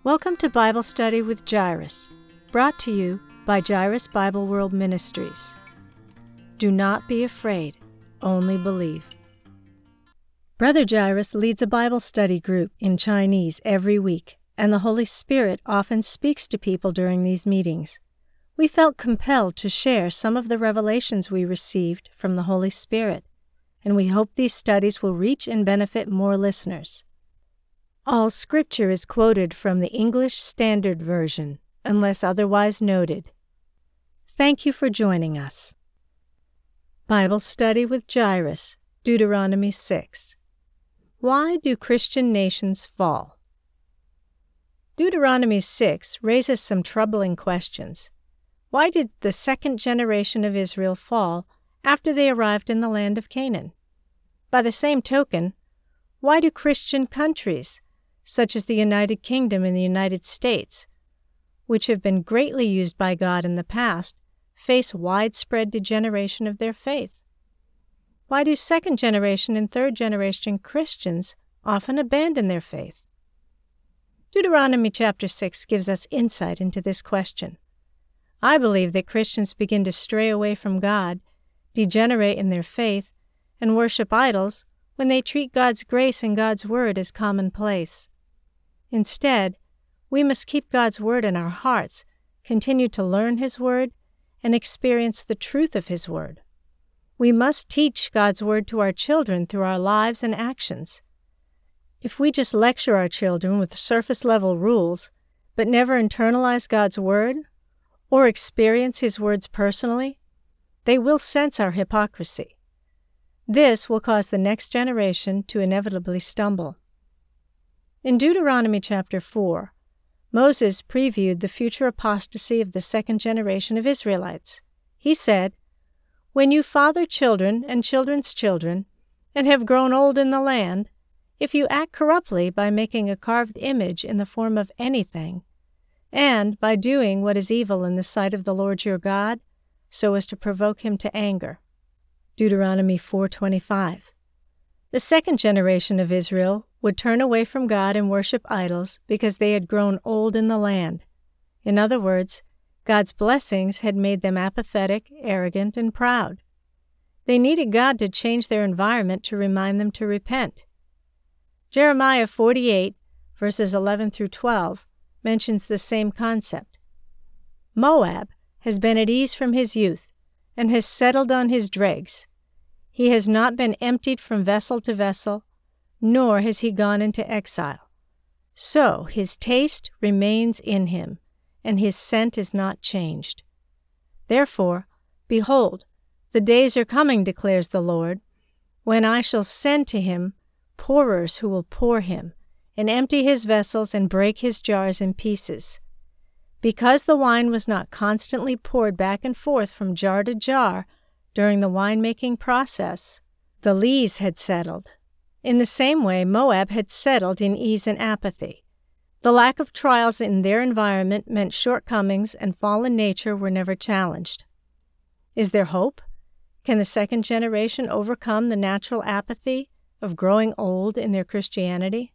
Welcome to Bible Study with Jairus, brought to you by Jairus Bible World Ministries. Do not be afraid, only believe. Brother Jairus leads a Bible study group in Chinese every week, and the Holy Spirit often speaks to people during these meetings. We felt compelled to share some of the revelations we received from the Holy Spirit, and we hope these studies will reach and benefit more listeners. All scripture is quoted from the English Standard Version, unless otherwise noted. Thank you for joining us. Bible Study with Jairus, Deuteronomy 6. Why do Christian nations fall? Deuteronomy 6 raises some troubling questions. Why did the second generation of Israel fall after they arrived in the land of Canaan? By the same token, why do Christian countries, such as the United Kingdom and the United States, which have been greatly used by God in the past, face widespread degeneration of their faith? Why do second-generation and third-generation Christians often abandon their faith? Deuteronomy chapter 6 gives us insight into this question. I believe that Christians begin to stray away from God, degenerate in their faith, and worship idols when they treat God's grace and God's Word as commonplace. Instead, we must keep God's Word in our hearts, continue to learn His Word, and experience the truth of His Word. We must teach God's Word to our children through our lives and actions. If we just lecture our children with surface-level rules, but never internalize God's Word, or experience His words personally, they will sense our hypocrisy. This will cause the next generation to inevitably stumble. In Deuteronomy chapter 4, Moses previewed the future apostasy of the second generation of Israelites. He said, "When you father children and children's children, and have grown old in the land, if you act corruptly by making a carved image in the form of anything, and by doing what is evil in the sight of the Lord your God, so as to provoke Him to anger." Deuteronomy 4:25. The second generation of Israel would turn away from God and worship idols because they had grown old in the land. In other words, God's blessings had made them apathetic, arrogant, and proud. They needed God to change their environment to remind them to repent. Jeremiah 48, verses 11 through 12, mentions the same concept. Moab has been at ease from his youth, and has settled on his dregs. He has not been emptied from vessel to vessel, nor has he gone into exile. So his taste remains in him, and his scent is not changed. Therefore, behold, the days are coming, declares the Lord, when I shall send to him pourers who will pour him, and empty his vessels and break his jars in pieces. Because the wine was not constantly poured back and forth from jar to jar during the wine-making process, the lees had settled. In the same way, Moab had settled in ease and apathy. The lack of trials in their environment meant shortcomings and fallen nature were never challenged. Is there hope? Can the second generation overcome the natural apathy of growing old in their Christianity?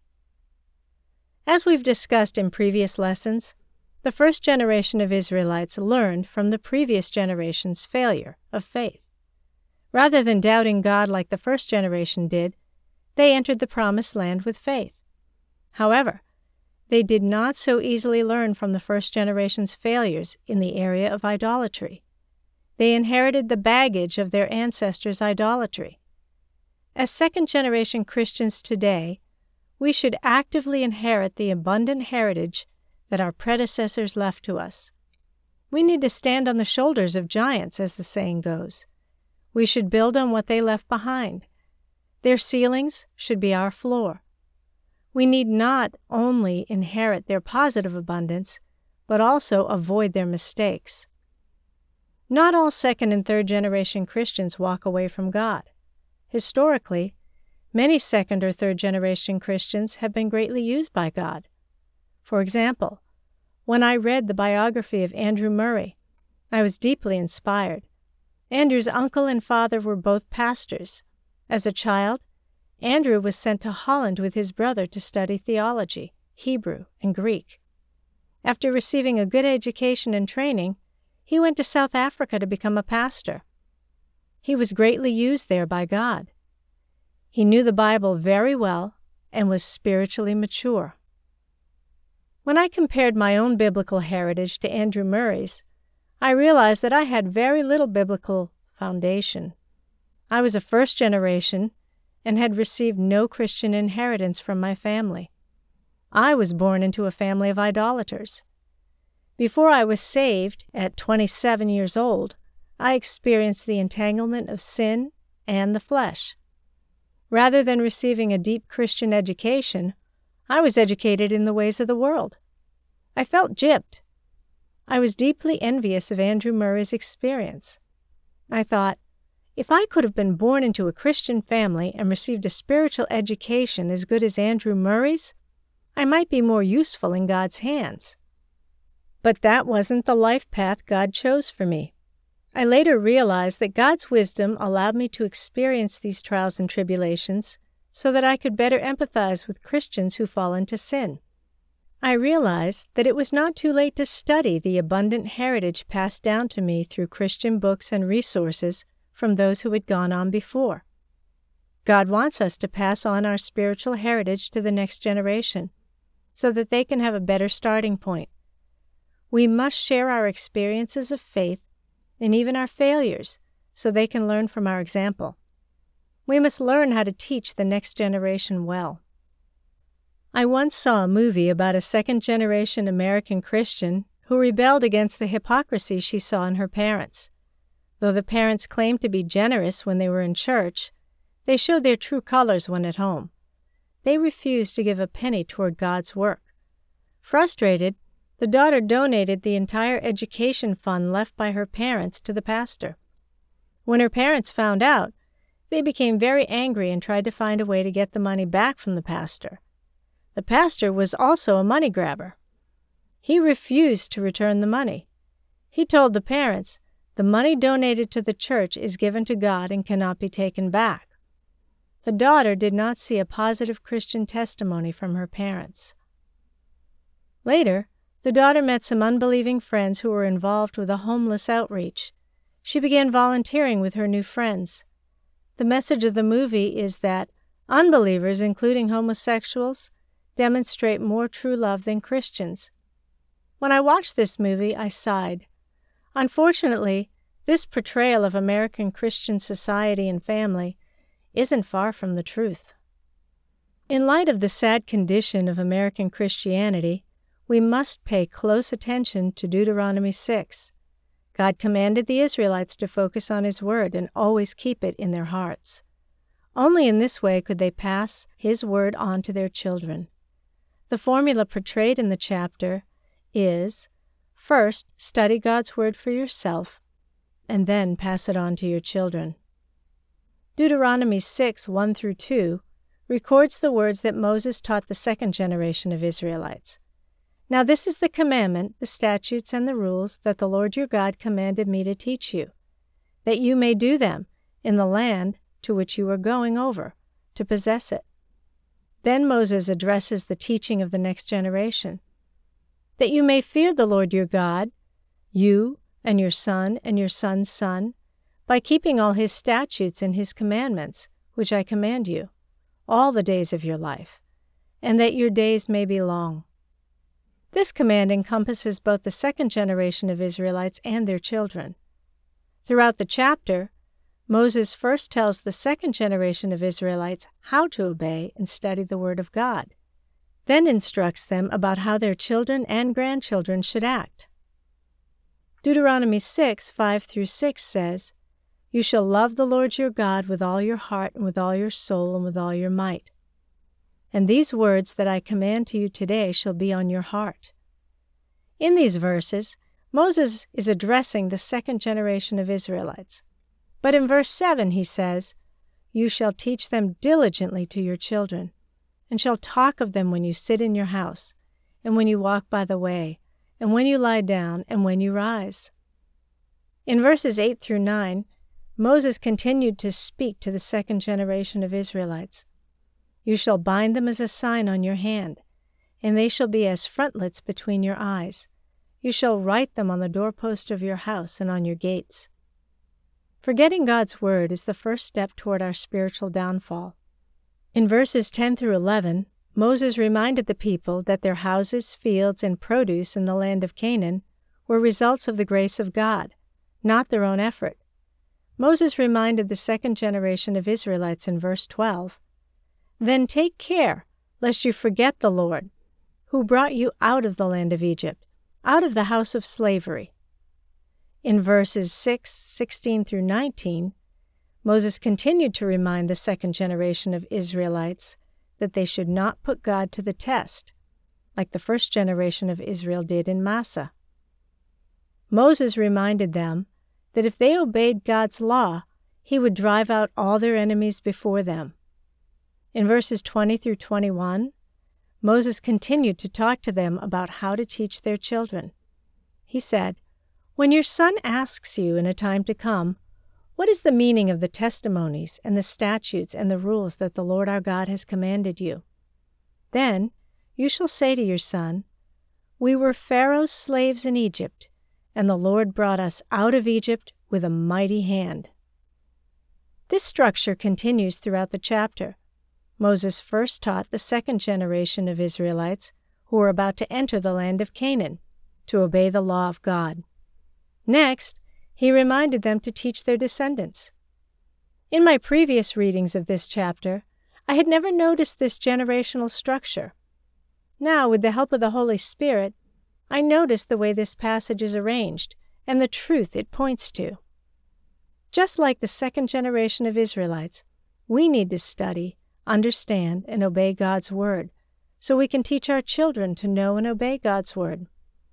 As we've discussed in previous lessons, the first generation of Israelites learned from the previous generation's failure of faith. Rather than doubting God like the first generation did, they entered the promised land with faith. However, they did not so easily learn from the first generation's failures in the area of idolatry. They inherited the baggage of their ancestors' idolatry. As second-generation Christians today, we should actively inherit the abundant heritage that our predecessors left to us. We need to stand on the shoulders of giants, as the saying goes. We should build on what they left behind. Their ceilings should be our floor. We need not only inherit their positive abundance, but also avoid their mistakes. Not all second and third generation Christians walk away from God. Historically, many second or third generation Christians have been greatly used by God. For example, when I read the biography of Andrew Murray, I was deeply inspired. Andrew's uncle and father were both pastors. As a child, Andrew was sent to Holland with his brother to study theology, Hebrew, and Greek. After receiving a good education and training, he went to South Africa to become a pastor. He was greatly used there by God. He knew the Bible very well and was spiritually mature. When I compared my own biblical heritage to Andrew Murray's, I realized that I had very little biblical foundation. I was a first generation and had received no Christian inheritance from my family. I was born into a family of idolaters. Before I was saved, at 27 years old, I experienced the entanglement of sin and the flesh. Rather than receiving a deep Christian education, I was educated in the ways of the world. I felt gypped. I was deeply envious of Andrew Murray's experience. I thought, if I could have been born into a Christian family and received a spiritual education as good as Andrew Murray's, I might be more useful in God's hands. But that wasn't the life path God chose for me. I later realized that God's wisdom allowed me to experience these trials and tribulations so that I could better empathize with Christians who fall into sin. I realized that it was not too late to study the abundant heritage passed down to me through Christian books and resources from those who had gone on before. God wants us to pass on our spiritual heritage to the next generation so that they can have a better starting point. We must share our experiences of faith and even our failures so they can learn from our example. We must learn how to teach the next generation well. I once saw a movie about a second-generation American Christian who rebelled against the hypocrisy she saw in her parents. Though the parents claimed to be generous when they were in church, they showed their true colors when at home. They refused to give a penny toward God's work. Frustrated, the daughter donated the entire education fund left by her parents to the pastor. When her parents found out, they became very angry and tried to find a way to get the money back from the pastor. The pastor was also a money grabber. He refused to return the money. He told the parents, "The money donated to the church is given to God and cannot be taken back." The daughter did not see a positive Christian testimony from her parents. Later, the daughter met some unbelieving friends who were involved with a homeless outreach. She began volunteering with her new friends. The message of the movie is that unbelievers, including homosexuals, demonstrate more true love than Christians. When I watched this movie, I sighed. Unfortunately, this portrayal of American Christian society and family isn't far from the truth. In light of the sad condition of American Christianity, we must pay close attention to Deuteronomy 6. God commanded the Israelites to focus on His Word and always keep it in their hearts. Only in this way could they pass His Word on to their children. The formula portrayed in the chapter is, first, study God's Word for yourself, and then pass it on to your children. Deuteronomy 6, 1-2 records the words that Moses taught the second generation of Israelites. Now this is the commandment, the statutes, and the rules that the Lord your God commanded me to teach you, that you may do them in the land to which you are going over, to possess it. Then Moses addresses the teaching of the next generation. That you may fear the Lord your God, you and your son and your son's son, by keeping all His statutes and His commandments, which I command you, all the days of your life, and that your days may be long. This command encompasses both the second generation of Israelites and their children. Throughout the chapter, Moses first tells the second generation of Israelites how to obey and study the Word of God, then instructs them about how their children and grandchildren should act. Deuteronomy 6, 5-6 says, "You shall love the Lord your God with all your heart and with all your soul and with all your might. And these words that I command to you today shall be on your heart." In these verses, Moses is addressing the second generation of Israelites. But in verse 7 he says, "You shall teach them diligently to your children, and shall talk of them when you sit in your house, and when you walk by the way, and when you lie down, and when you rise." In verses 8-9, Moses continued to speak to the second generation of Israelites. "You shall bind them as a sign on your hand, and they shall be as frontlets between your eyes. You shall write them on the doorpost of your house and on your gates. Forgetting God's word is the first step toward our spiritual downfall. In verses 10 through 11, Moses reminded the people that their houses, fields, and produce in the land of Canaan were results of the grace of God, not their own effort. Moses reminded the second generation of Israelites in verse 12, "Then take care, lest you forget the Lord, who brought you out of the land of Egypt, out of the house of slavery." In verses 6, 16 through 19, Moses continued to remind the second generation of Israelites that they should not put God to the test, like the first generation of Israel did in Massah. Moses reminded them that if they obeyed God's law, He would drive out all their enemies before them. In verses 20 through 21, Moses continued to talk to them about how to teach their children. He said, "When your son asks you in a time to come, 'What is the meaning of the testimonies and the statutes and the rules that the Lord our God has commanded you?' Then you shall say to your son, 'We were Pharaoh's slaves in Egypt, and the Lord brought us out of Egypt with a mighty hand.'" This structure continues throughout the chapter. Moses first taught the second generation of Israelites who were about to enter the land of Canaan to obey the law of God. Next, he reminded them to teach their descendants. In my previous readings of this chapter, I had never noticed this generational structure. Now, with the help of the Holy Spirit, I noticed the way this passage is arranged and the truth it points to. Just like the second generation of Israelites, we need to study, understand, and obey God's Word so we can teach our children to know and obey God's Word.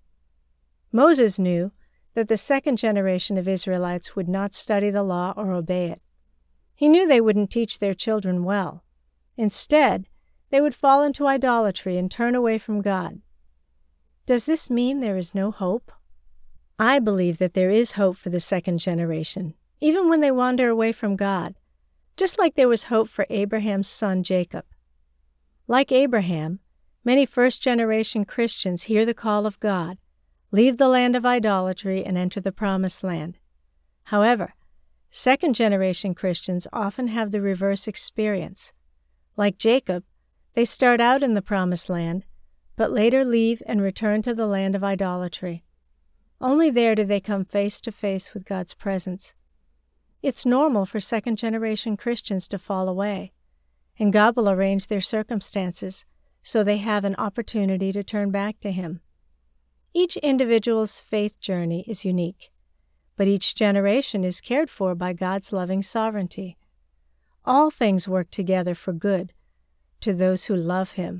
Moses knew that the second generation of Israelites would not study the law or obey it. He knew they wouldn't teach their children well. Instead, they would fall into idolatry and turn away from God. Does this mean there is no hope? I believe that there is hope for the second generation, even when they wander away from God, just like there was hope for Abraham's son Jacob. Like Abraham, many first-generation Christians hear the call of God, leave the land of idolatry, and enter the Promised Land. However, second-generation Christians often have the reverse experience. Like Jacob, they start out in the Promised Land, but later leave and return to the land of idolatry. Only there do they come face to face with God's presence. It's normal for second-generation Christians to fall away, and God will arrange their circumstances so they have an opportunity to turn back to Him. Each individual's faith journey is unique, but each generation is cared for by God's loving sovereignty. All things work together for good to those who love Him.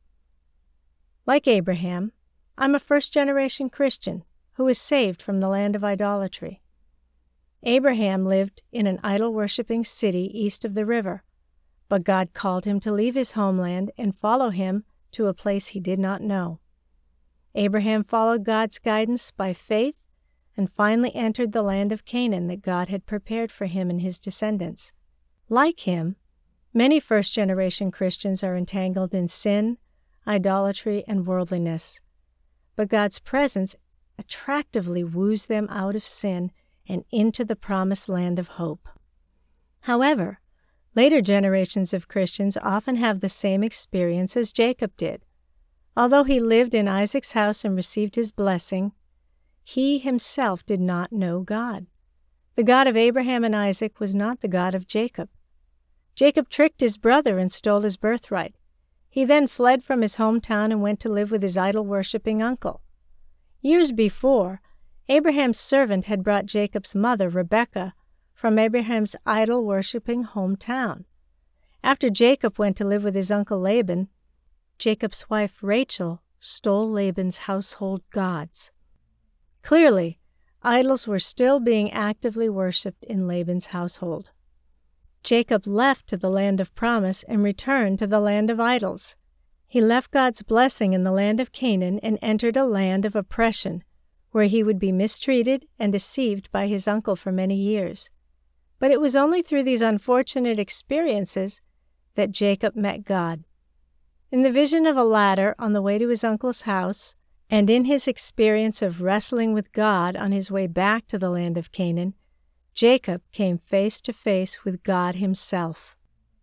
Like Abraham, I'm a first-generation Christian who was saved from the land of idolatry. Abraham lived in an idol-worshipping city east of the river, but God called him to leave his homeland and follow Him to a place he did not know. Abraham followed God's guidance by faith and finally entered the land of Canaan that God had prepared for him and his descendants. Like him, many first-generation Christians are entangled in sin, idolatry, and worldliness, but God's presence attractively woos them out of sin and into the promised land of hope. However, later generations of Christians often have the same experience as Jacob did. Although he lived in Isaac's house and received his blessing, he himself did not know God. The God of Abraham and Isaac was not the God of Jacob. Jacob tricked his brother and stole his birthright. He then fled from his hometown and went to live with his idol-worshipping uncle. Years before, Abraham's servant had brought Jacob's mother, Rebekah, from Abraham's idol-worshipping hometown. After Jacob went to live with his uncle Laban, Jacob's wife Rachel stole Laban's household gods. Clearly, idols were still being actively worshipped in Laban's household. Jacob left to the land of promise and returned to the land of idols. He left God's blessing in the land of Canaan and entered a land of oppression, where he would be mistreated and deceived by his uncle for many years. But it was only through these unfortunate experiences that Jacob met God. In the vision of a ladder on the way to his uncle's house, and in his experience of wrestling with God on his way back to the land of Canaan, Jacob came face to face with God himself.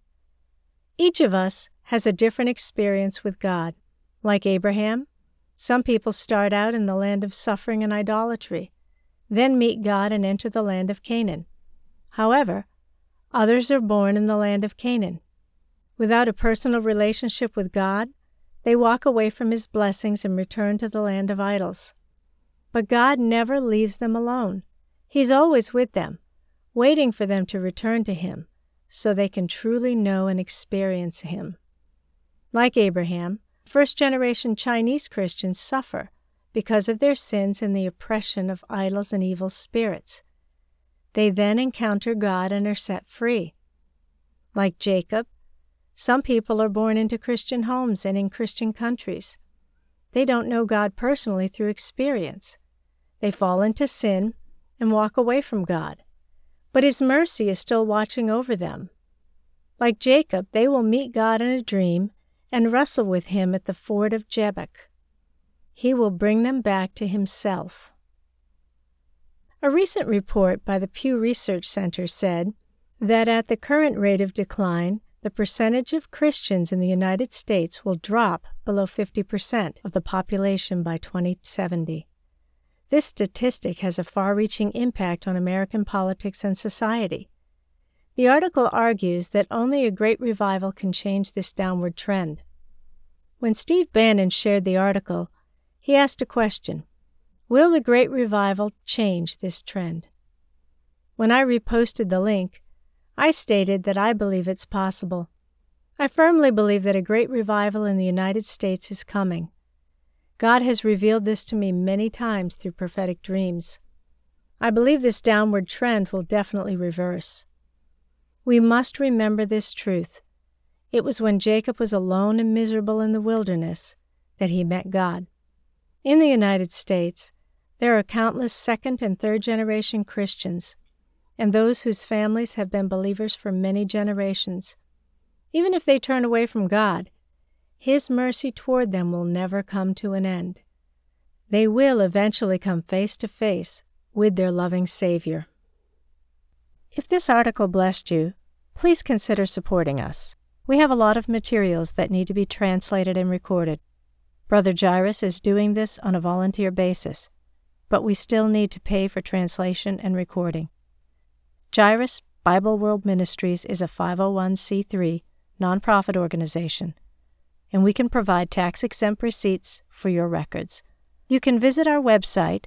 Each of us has a different experience with God. Like Abraham, some people start out in the land of suffering and idolatry, then meet God and enter the land of Canaan. However, others are born in the land of Canaan. Without a personal relationship with God, they walk away from His blessings and return to the land of idols. But God never leaves them alone. He's always with them, waiting for them to return to Him so they can truly know and experience Him. Like Abraham, first-generation Chinese Christians suffer because of their sins and the oppression of idols and evil spirits. They then encounter God and are set free. Like Jacob, some people are born into Christian homes and in Christian countries. They don't know God personally through experience. They fall into sin and walk away from God. But His mercy is still watching over them. Like Jacob, they will meet God in a dream and wrestle with Him at the ford of Jabbok. He will bring them back to Himself. A recent report by the Pew Research Center said that at the current rate of decline, the percentage of Christians in the United States will drop below 50% of the population by 2070. This statistic has a far-reaching impact on American politics and society. The article argues that only a great revival can change this downward trend. When Steve Bannon shared the article, he asked a question: will the Great Revival change this trend? When I reposted the link, I stated that I believe it's possible. I firmly believe that a great revival in the United States is coming. God has revealed this to me many times through prophetic dreams. I believe this downward trend will definitely reverse. We must remember this truth. It was when Jacob was alone and miserable in the wilderness that he met God. In the United States, there are countless second- and third-generation Christians, and those whose families have been believers for many generations. Even if they turn away from God, His mercy toward them will never come to an end. They will eventually come face to face with their loving Savior. If this article blessed you, please consider supporting us. We have a lot of materials that need to be translated and recorded. Brother Jairus is doing this on a volunteer basis, but we still need to pay for translation and recording. Jairus Bible World Ministries is a 501c3 nonprofit organization, and we can provide tax-exempt receipts for your records. You can visit our website,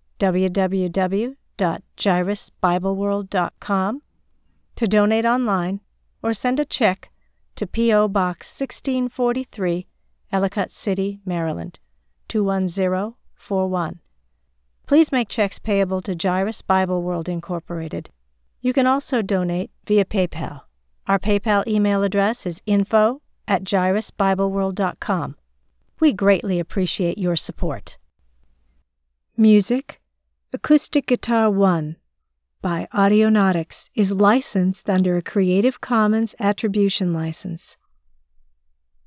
www.jairusbibleworld.com, to donate online or send a check to P.O. Box 1643, Ellicott City, Maryland, 21041. Please make checks payable to Jairus Bible World Incorporated. You can also donate via PayPal. Our PayPal email address is info@jairusbibleworld.com. We greatly appreciate your support. Music, Acoustic Guitar 1 by Audionautics is licensed under a Creative Commons Attribution License.